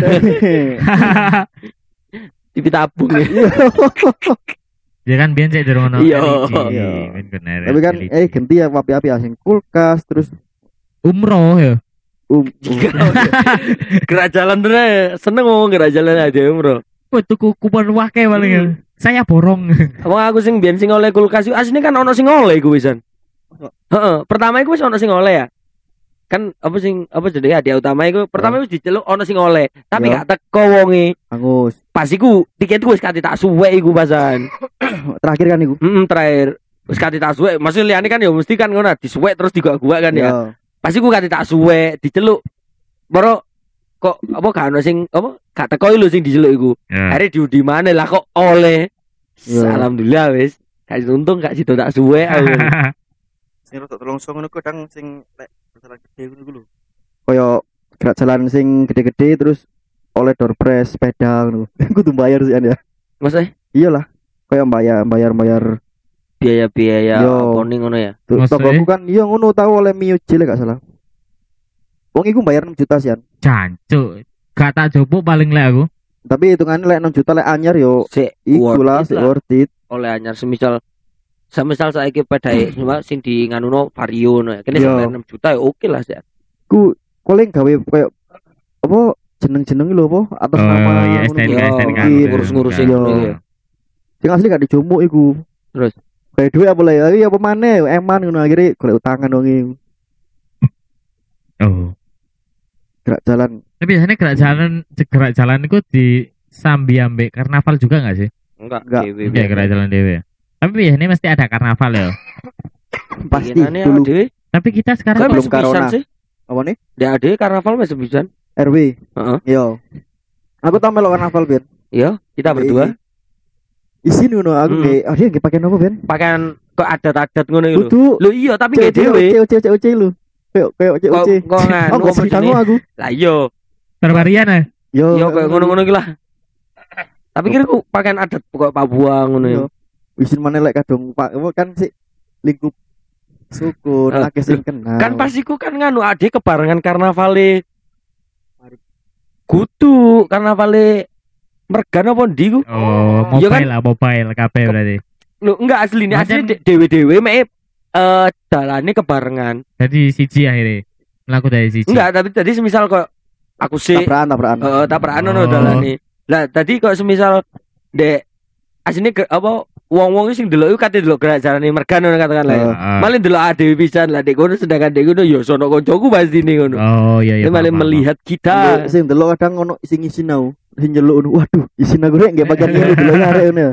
T V tabung ya. Iya. Ya kan biyen sik durung ono Iya. L E D. Iya. Ben bener. Tapi kan L E D. eh ganti ya api-api asing kulkas terus umroh ya. um, um. Gerak jalan terus seneng ngomong gerak jalan aja bro. Wah tuku kupon wake paling ya. Saya borong. Wong aku sing biyen sing oleh kulkas iku asline kan ono sing oleh iku wisan. Heeh, pertama iku wis ono sing oleh ya. Kan apa sing apa jenenge hadiah utama iku pertama wis diceluk ono sing oleh, tapi Ya. gak teko wonge. Angus. Pas iku tiketku wis kate tak suwek iku pasan. Terakhir kan iku. Heeh, terakhir wis kate tak suwek. Maksud liyane kan ya mesti kan ngono disuwek terus digak-gak kan ya. Ya. Pas iku kate tak suwek, diceluk. Baru kok apa gak ono sing apa gak teko lho sing diceluk iku. Ya. Akhirnya diundi mana lah kok oleh. Ya. Alhamdulillah wis. Gak untung gak sido tak suwek aku. Sing rodok telongso ngono kadang sing lek jalan gede ngono ku lho. Kaya gerak jalan sing gede-gede terus oleh door prize sepeda ngono. Kudu bayar sih ya. Maksudnya Iyalah. Kaya bayar bayar bayar biaya-biaya Yo. apa ning ngono ya. tuh Maksudnya? tokoku kan iya ngono tahu oleh Mio Jile gak salah. Wong iku bayar enam juta sih. Jancuk. Gak tak jopuk paling lek aku. Tapi hitungannya lek enam juta lek anyar yo Sik iku lah worth it sik lah. worth it. Oleh anyar semisal semisal saiki pedae cuma sing di nganuno Vario no ya. Kene Yo. sampai enam juta ya oke lah sih. Ku paling gawe kayak apa jeneng-jeneng lho apa atas Oh, nama iya, ngono S T N K, ku. Yo, S T N K. Iya, ngurus-ngurusin Yo. ngono ya. Sing asli gak dijumuk iku. Terus? Kayak duit apa lah ya apa maneh eman ngono akhirnya golek utangan dong iku. Oh. Gerak jalan. Tapi biasanya gerak jalan gerak jalan itu di sambi ambek karnaval juga nggak sih? Enggak, Enggak. dewe. Iya gerak jalan dewe. Tapi biasanya mesti ada karnaval ya. Pasti Pengenane dulu dhewe. Tapi kita sekarang Kok belum belum sepisan corona. sih? apa nih? Dek ade karnaval wis sepisan. R W. Heeh. Yo. Aku tau melok karnaval Ben. Iya, kita berdua Isin ngono aku Hmm. nggih. Ah dia nggih pakai apa Ben? pakaian kok adat-adat ngono iku lho. Kudu Lho iya tapi gak dhewe. C O C C O C lu. Kayak kayak C O Kok C. kok nganu Aku apa sing jenenge? aku. Lah iya, bervarian ya. Yo. iya kayak ngono-ngono iki lah. Tapi kira ku pakaian adat pokok Papua ngono ya. Yo. Isin mana lek kadung Pak apa kan sih lingkup suku Eh, akeh sing kenal. Kan pas iku kan nganu ade kebarengan karnavale Kudu karnavale Mergan apa ndi ku? Oh, Iya kan? mobile lah, mobile kabeh berarti. Lho enggak asline Macam- asline dewe-dewe mek eh dalane kebarengan. Jadi siji akhirnya melaku dari siji. Enggak, tapi tadi semisal kok aku sih tabrakan tabrakan. heeh tabrakan ono Oh. dalane. Lah tadi kok semisal dek asline ke, apa wong-wong sing delok iku kate delok gerak jarane Mergan ngono katakan lah. ya. Ah. Malah delok adewe pisan lah dek kono sedangkan dek kono ya sono kancaku pastine ngono. Oh iya iya. Dia malah paham, paham. melihat kita. Nggih, sing delok kadang ono sing isin aku. Sing nyeluk ngono. Waduh, isin aku rek nggih pakai ngene delok arek ngono.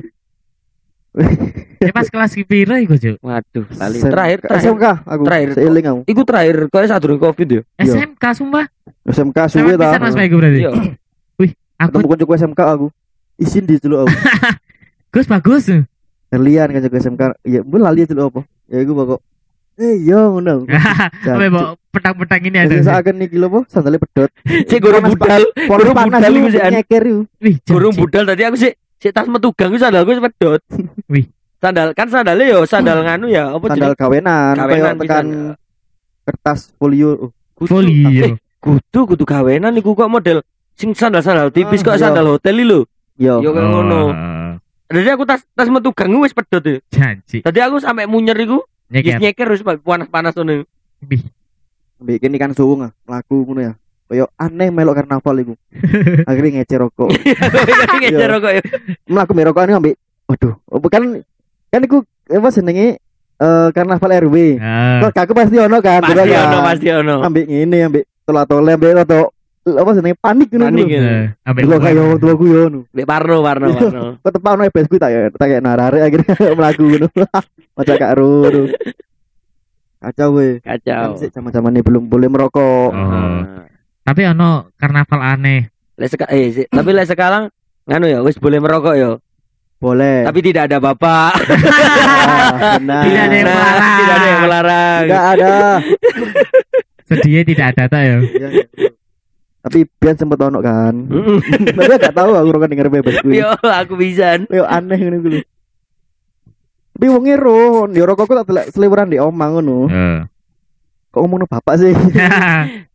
Eh pas kelas piro iku, Cuk? Waduh, lali. Sem- Terakhir S terakhir M K aku. Terakhir. Seiling aku. iku terakhir kowe sadurunge Covid ya. Iya. S M K sumpah. S M K Sama suwe ta. pisan Mas Maiku berarti. Iya. Aku Ketemu kancaku S M K aku. Isin di delok aku. Gus bagus. Lian kancaku S M K. Ya, mbok lali delok apa? Ya iku pokok. Eh iya ngono. Apa bawa petang-petang ini ada. Sing saken iki lho apa? Sandale pedot. Cek gurung Panas, budal, Pon Gurung panas budal iku iku sih, An. nyeker iku. Wih, gurung janji. budal tadi aku sih sik tas metu gang iku sandalku wis pedot. Wih. Sandal kan sandalnya yo sandal nganu ya, apa Sandal jenenge? gawenan, Gawenan kayak tekan pisan. kertas folio. Oh, Kudu- Folio. Eh, kudu kudu gawenan iku kok model sing sandal-sandal tipis kok Ah, iya. sandal hotel iki lho. yo. Yo kayak ngono. Oh, Jadi aku tas tas metu gang wis pedot ya. janji. Tadi aku sampai munyer iku, wis Nyeker. nyeker wis panas-panas ngono. Wih. Bikin ikan suwung ah, mlaku ngono ya. Kayak aneh melok karnaval iku. Akhirnya ngecer rokok. Ngecer kok ya. Mlaku mbek rokokan ambek waduh, bukan kan iku apa jenenge eh karnaval R W. Ah. Kok aku pasti ono kan, Pasti betul kan? ono, pasti ono. Ambek ngene ambek tola-tole ambek roto apa jenenge panik ngono. Panik lho. ya. Eh, ambek Delok kaya wong tuaku yo ngono. Lek Parno, Parno, Parno. Kok tepak ono ebesku tak ya, tak kayak narare akhirnya mlaku ngono. Macak gak ru. Kacau we. Kan Kacau. sik zaman-zaman ini belum boleh merokok. Oh. Tapi ono karnaval aneh. Lek seka eh si- tapi lek sekarang nganu ya wis boleh merokok ya. Boleh. Tapi tidak ada bapak. Ah, benar. Tidak ada yang Nah, melarang. tidak ada yang melarang. Tidak ada. Sedihnya tidak ada tak ya. Iya, iya. Tapi Bian sempet ono kan. Mm-mm. Tapi gak tahu aku rokok denger bebas gue. Yo, aku bisa. Yo aneh ngono kuwi. Tapi wong ero, yo rokokku tak delok seliweran di omah ngono. Eh. Kok ngomongno bapak sih?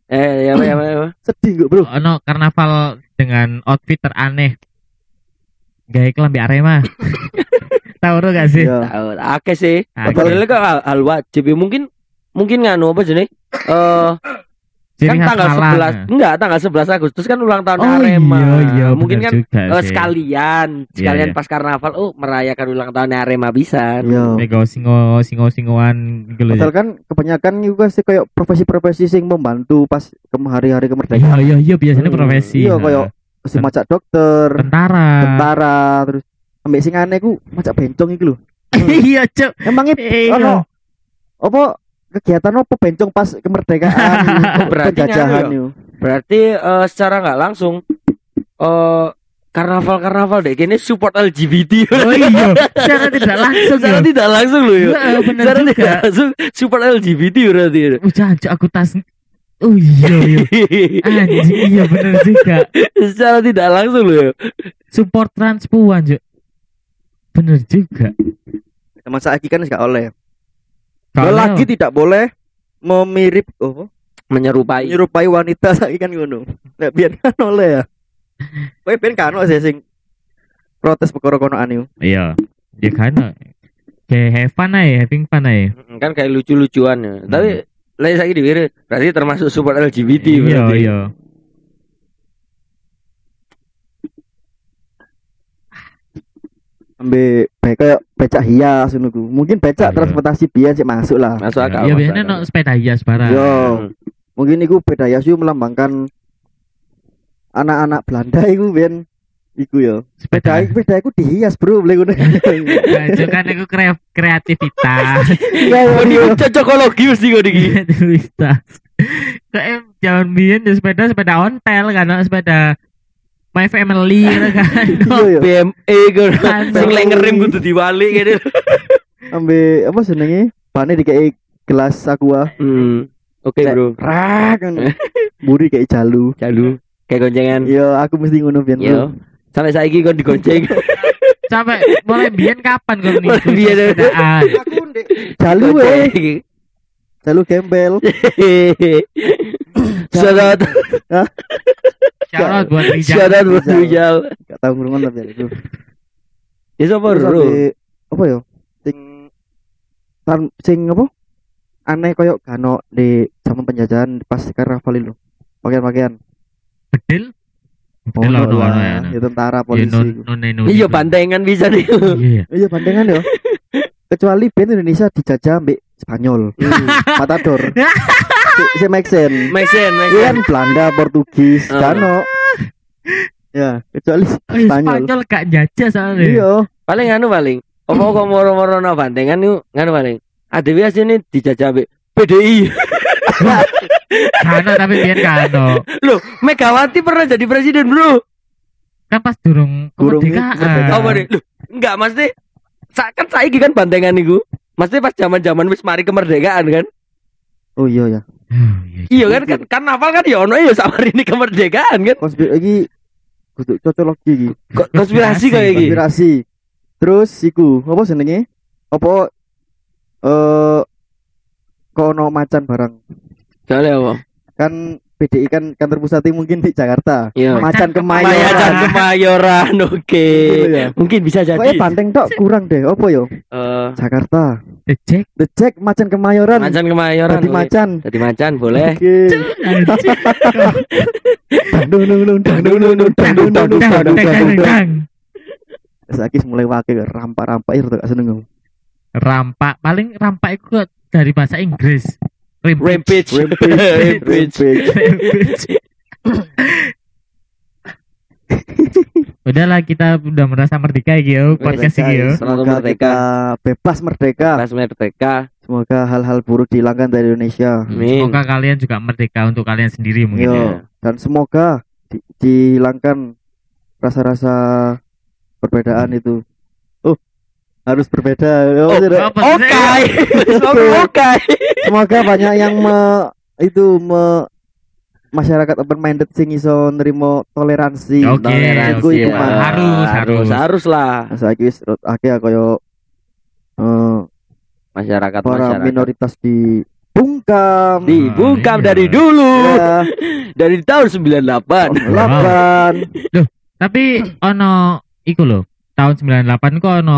Eh, ya apa ya apa. ya, apa. Sedih gak, Bro? Ono karnaval dengan outfit teraneh. Gaya kelambi Arema. Tahu lo gak sih? Iya. Tahu, akeh sih. Akeh. Padahal kok hal, hal wajib ya. Mungkin mungkin nganu apa jenenge? Eh Ciri kan khas tanggal Malang. sebelas enggak tanggal sebelas Agustus kan ulang tahun Oh Arema. iya, iya, Mungkin bener kan juga eh, sih. sekalian sekalian iya. pas karnaval oh merayakan ulang tahun Arema bisa. Iya. Mega singo singo singoan gitu loh. Padahal kan kebanyakan juga sih kayak profesi-profesi sing membantu pas ke hari-hari kemerdekaan. Iya iya iya biasanya Hmm, profesi. Iya, Nah. kayak si macak dokter, tentara. tentara, terus ambek sing aneh ku macak bencong iki lho. Iya, Cuk. Emangnya Iya. ono apa kegiatan apa bencong pas kemerdekaan Oh, berarti penjajahan nganu yo. Berarti eh, secara nggak langsung eh karnaval-karnaval deh kini support L G B T. Oh iya, secara tidak langsung Secara ya. tidak langsung loh ya. Heeh, bener Secara juga. tidak langsung support L G B T berarti. Oh, jancuk aku tas. Oh iya iya. Anjing iya bener juga. Secara tidak langsung loh ya. Support transpuan, Cuk. Bener juga. Sama saiki kan gak oleh. Kalau Lagi tidak boleh memirip oh Menyerupai. menyerupai wanita saiki kan ngono. Nek biyen kan oleh ya. Kowe ben kan ono sih sing protes perkara kono anu. iya, ya kan. Kayak have fun aja, having fun aja. Mm, kan kayak lucu-lucuan ya. Hmm. Tapi lagi saya di berarti termasuk support L G B T Iya berarti. iya. Ambe baik kayak becak hias ngono ku. Mungkin becak Iya. transportasi biasa sih masuk lah. Masuk akal. Iya masuk biasanya akal. no sepeda hias barang. Yo. Hmm. Mungkin iku beda hias yo melambangkan anak-anak Belanda iku ben iku yo. Sepeda Sepeda. sepeda iku dihias, Bro, boleh ngono. Itu kan itu kre- kreativitas. Oh, ini cocokologi mesti kok iki. Kreativitas. Kayak zaman biyen ya sepeda sepeda ontel kan, no? Sepeda My Family kan. Iya yo. B M E kan. Kan. Sing lek ngerem kudu diwalik gitu. Ambe apa jenenge? Bane dikei gelas aqua. Hmm. Oke, Bro. Rak ngono. Buri kayak jalu. Jalu kayak goncengan. Yo, aku mesti ngono biyen. Yo. Sampai saiki kon digonceng. Sampai mulai biyen kapan kau nih Mulai biyen. sepedaan? Aku ndek jalu eh. Gonceng. Jalu gembel. Shout out, Shout out buat Rijal. shout out buat Rijal. Rijal. Gak tau ngurungan tapi itu. Ya sapa, Terus Bro? ambe apa yo? Sing tan sing apa? Aneh koyo gano di zaman penjajahan pas karnaval itu. Pakaian-pakaian. Bedil. Oh, Bedil ono lah. ono ya. Ya tentara Ya, polisi. non iku. non non. Iya bantengan bisa nih. Iya. Iya bandengan yo. Kecuali band Indonesia dijajah ambek Spanyol. Matador. Si, si make sense. Make sense, make Iya sense. kan Belanda, Portugis, Oh. Gano. Ya, kecuali Oh, iya, Spanyol. Spanyol gak jajah soalnya. Iya. Paling anu paling. Apa kok moro-moro no bantengan yuk nganu paling. Ada biasa nih dijajah ambek P D I. Kano tapi biyen kano. Loh, Megawati pernah jadi presiden, Bro. Kan pas durung Durung kemerdekaan. kemerdekaan. Apa nih? Loh, enggak mesti sa- kan saiki kan bantengan niku. Mesti pas zaman-zaman wis mari kemerdekaan kan. Oh iya ya. Oh, iya. Iya kan kan karnaval kan ya ono ya sama ini kemerdekaan kan. Konspirasi lagi kudu cocok lagi iki. Ko- Konspirasi kayak iki. Konspirasi. Terus iku, apa jenenge? Apa eh kono macan barang. Soalnya apa? Kan P D I kan kantor pusatnya mungkin di Jakarta. Iya. Macan Kemayoran. Macan Kemayoran. Kemayoran, oke. Gitu ya. Mungkin bisa jadi. Pokoknya banteng tok kurang deh. Apa yo? Eh, Jakarta. The Jack. The Jack macan Kemayoran. Macan Kemayoran. Jadi oke. macan. Jadi macan boleh. Oke. Dang dang dang dang dang dang dang dang dang dang dang dang dang dang. Saiki mulai wake rampak-rampak itu gak seneng aku. Rampak paling rampak itu dari bahasa Inggris. Rampage. Rampage. Rampage. Udahlah kita udah merasa merdeka ya podcast ini ya. Selamat Semoga merdeka. kita bebas merdeka. Pas merdeka. Semoga hal-hal buruk dihilangkan dari Indonesia. Amin. Semoga kalian juga merdeka untuk kalian sendiri mungkin Yo. ya. Dan semoga di- dihilangkan rasa-rasa perbedaan itu. Oh, harus berbeda. Oh, Oh, tidak. Apa Oke. sih? Oke. Semoga banyak yang me, itu me, masyarakat open minded sing iso nerimo toleransi. Oke, Toleransi, Iku iku Pak. mah. Harus, harus. harus lah. Nah, saiki wis rut akeh koyo eh Masyarakat para masyarakat. minoritas di bung dibungkam. Dibungkam iya. dari dulu. Ya, Dari tahun sembilan puluh delapan. delapan. Tapi ono iku lho, tahun sembilan puluh delapan ku ono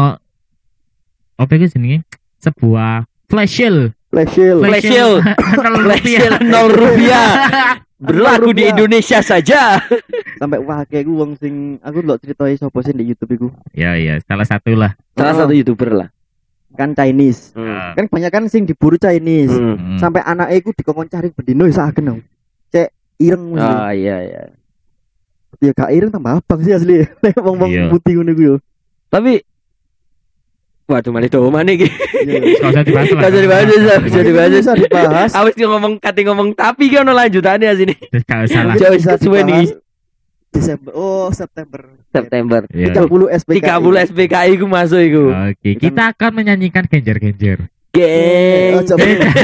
apa iku jenenge? Sebuah flash sale. Flash sale. Flash sale. nol Flash rupiah. sale nol rupiah. Berlaku di rupiah. Indonesia saja. Sampai wah kayak gue wong sing aku ndelok ceritain sapa sih di YouTube iku. Ya iya, salah satu lah. Salah Oh. satu YouTuber lah. Kan Chinese. Hmm. Kan banyak kan sing diburu Chinese. Hmm. Hmm. Sampai anaknya iku dikongkon cari bendino ya saken. Cek ireng mesti. Ah iya iya. Ya gak ireng tambah abang sih asli. Nek wong-wong Iya. putih ngono iku yo. Tapi waduh malah do mana iki? Iya. Gak usah dibahas lah. Gak usah dibahas, gak usah dibahas. Bisa dibahas. Awis dia ngomong kate ngomong tapi ki ono lanjutannya sini. Gak usah lah. Jauh Bisa suwe nih. dibahas Desember. Oh, September. September. Iya. tiga puluh S P K I. tiga puluh S P K I ku masuk iku. Oke, kita akan menyanyikan genjer-genjer. Eh, Geng. coba.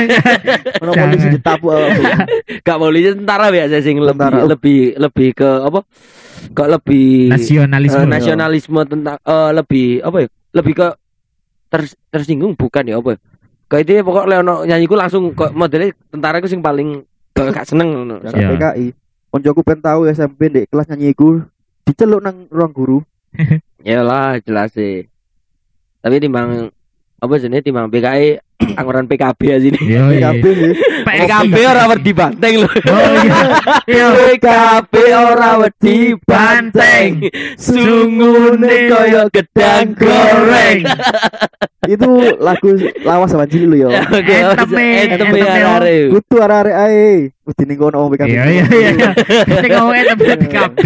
Ono polisi ditapuk awakmu. Gak polisi tentara biasa sing lebih Tentara. lebih lebih ke apa? Kok lebih Nasionalisme. eh, nasionalisme tentang eh, lebih apa ya? Lebih ke ters- tersinggung bukan ya apa? Kayak itu ya pokok Leono nyanyiku langsung kok modelnya tentara ku sing paling eh, gak seneng ngono. S Iya. P K I. Koncoku pengen tahu S M P ndek kelas nyanyi iku diceluk nang ruang guru. Yalah jelas sih. Tapi timbang apa jenenge timbang P K I anggaran P K B ya sini. Yo P K B iya. sih. P K B ora wedi banteng lho. Oh iya. Iya. P K B ora wedi banteng. Sungune koyo gedang goreng. Itu lagu lawas sama Cili lo yo. Oke, Enteme, enteme enteme, arek. Kutu arek-arek ae. Mesti ning kono P K B. Iya iya iya. Sing ngomongnya tempat P K B.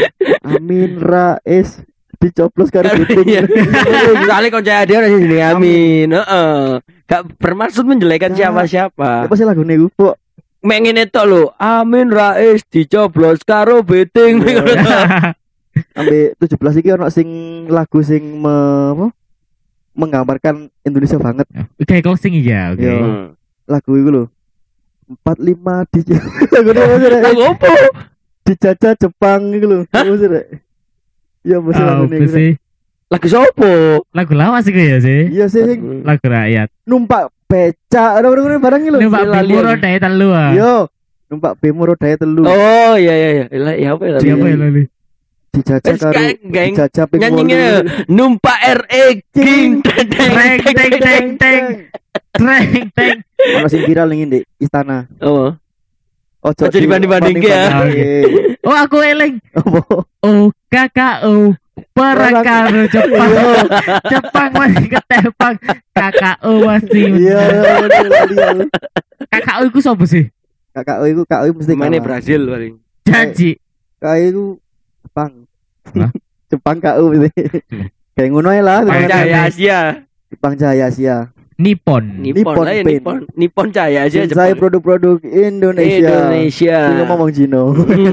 Amin Rais dicoblos karo Iya. kuting. Soalnya konco dia ora sini amin. Heeh. Gak bermaksud menjelekan Ya. siapa-siapa. Apa sih lagune iku, Pok? Mek ngene tok lho. Amin Rais dicoblos karo beting. Iya. Ambil tujuh belas iki ono sing lagu sing me, apa? Menggambarkan Indonesia banget. Oke, closing ya, oke. Iya. Hmm. Lagu iku lho. empat puluh lima di lagu apa sih, Rek? Lagu opo? Dijajah Jepang iku lho. Apa sih, Rek? Iya, apa sih Ah, lagune apa iku, Rek? sih? Lagu sopo? Lagu lawas iku ya sih. Iya sih sing Lagu rakyat. numpak becak orang-orang barang iki lho. Numpak lali bimbo aku. roda telu ah. Yo, numpak bemo rodae telu. Oh iya iya iya. Lah ya apa ya? Siapa ya lali? Dijajah Wes, karo geng- geng. dijajah ping Nyanyinya wolu. numpak R E King teng teng Teng teng teng teng. Teng teng. Ono sing viral ning di istana. Oh. Ojo Ojo dibanding-banding ya. dibanding-banding. Oh, aku eling. Apa? Oh, K K O perang Perang. karo Jepang. Jepang masih ketepang. K K O masih. Iya, bener lali aku. K K O iku sapa sih? Kakak iku Kak mesti Mana kalah. Brazil paling. Janji. Kak iku Jepang. Hah? Jepang Kak mesti. Kayak ngono ae lah. Kayak Cahaya Asia. Jepang Jaya Asia. Nippon. Nippon Nippon lah ya Paint. Nippon. Nippon Cahaya Asia Saya Jepang. produk-produk Indonesia. Indonesia. Ini ngomong Cino.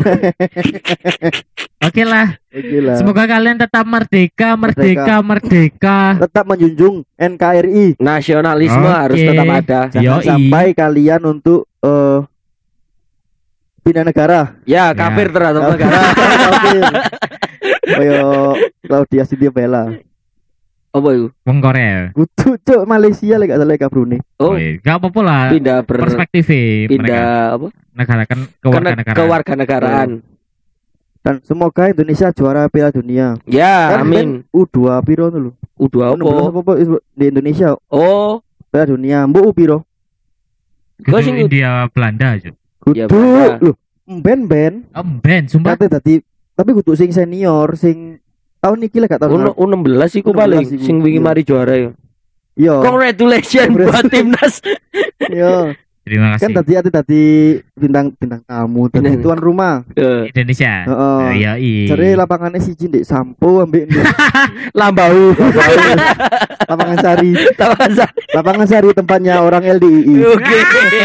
Oke lah. Oke lah. Semoga kalian tetap merdeka, merdeka, merdeka. Tetap menjunjung N K R I. Nasionalisme Oke. harus tetap ada. Jangan Yoi. sampai kalian untuk eh pindah negara. Ya, kafir terhadap negara. Kafir. Kayak Claudia Cynthia Bella. Apa itu? Wong Korea. Kudu cuk Malaysia lek gak salah Kak Brunei. Oh, iya. Gak apa-apa lah. pindah ber Perspektif mereka. pindah apa? Negara kan Ke kewarganegaraan. kewarganegaraan. Dan semoga Indonesia juara Piala Dunia. Ya, Kan amin. U dua piro dulu. U dua enam belas apa? apa di Indonesia Oh, Piala Dunia. Mbok U piro? Kudu Gua sing- India Belanda aja. Ya, Kudu Belanda. lho. Ben-ben Oh, Ben, sumpah. kate dadi tapi kudu sing senior sing tahun iki lah gak tahun. U enam belas iku U enam belas paling iku. sing wingi Iya. mari juara ya. Yo. Congratulations buat timnas. Yo. Terima Kan kasih. tadi ati tadi bintang bintang tamu tadi Bintang- tuan rumah. Eh, Indonesia. Heeh. Iya, iya. Cari lapangannya siji ndek Sampo ambek ndek Lambau. lapangan Sari. Tahu Lapangan Sari tempatnya orang L D I I. Oke.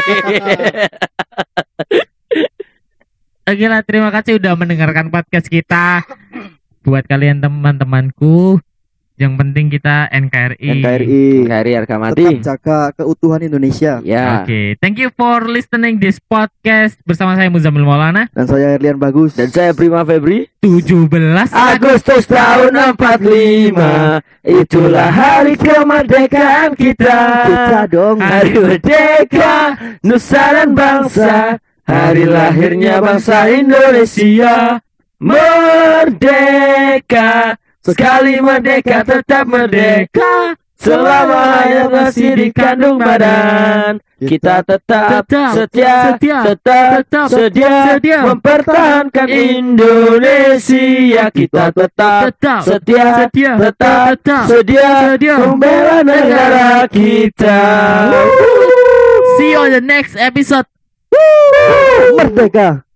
Oke lah, terima kasih udah mendengarkan podcast kita. Buat kalian teman-temanku Yang penting kita N K R I. N K R I. N K R I harga mati. Tetap jaga keutuhan Indonesia. Ya. Oke, thank you for listening this podcast bersama saya Muzamil Maulana Dan saya Erlian Bagus. Dan saya Prima Febri. tujuh belas Agustus tahun empat puluh lima, itulah hari kemerdekaan kita. Kita dong. Hari merdeka, nusa dan bangsa. Hari lahirnya bangsa Indonesia. Merdeka, sekali merdeka tetap merdeka. Selama hayat masih dikandung badan, kita tetap, Tetap, setia, setia, tetap, tetap, sedia, sedia. mempertahankan Indonesia. Kita tetap, Tetap, setia, setia, tetap, tetap, sedia, sedia. membela negara kita. See you on the next episode. Merdeka.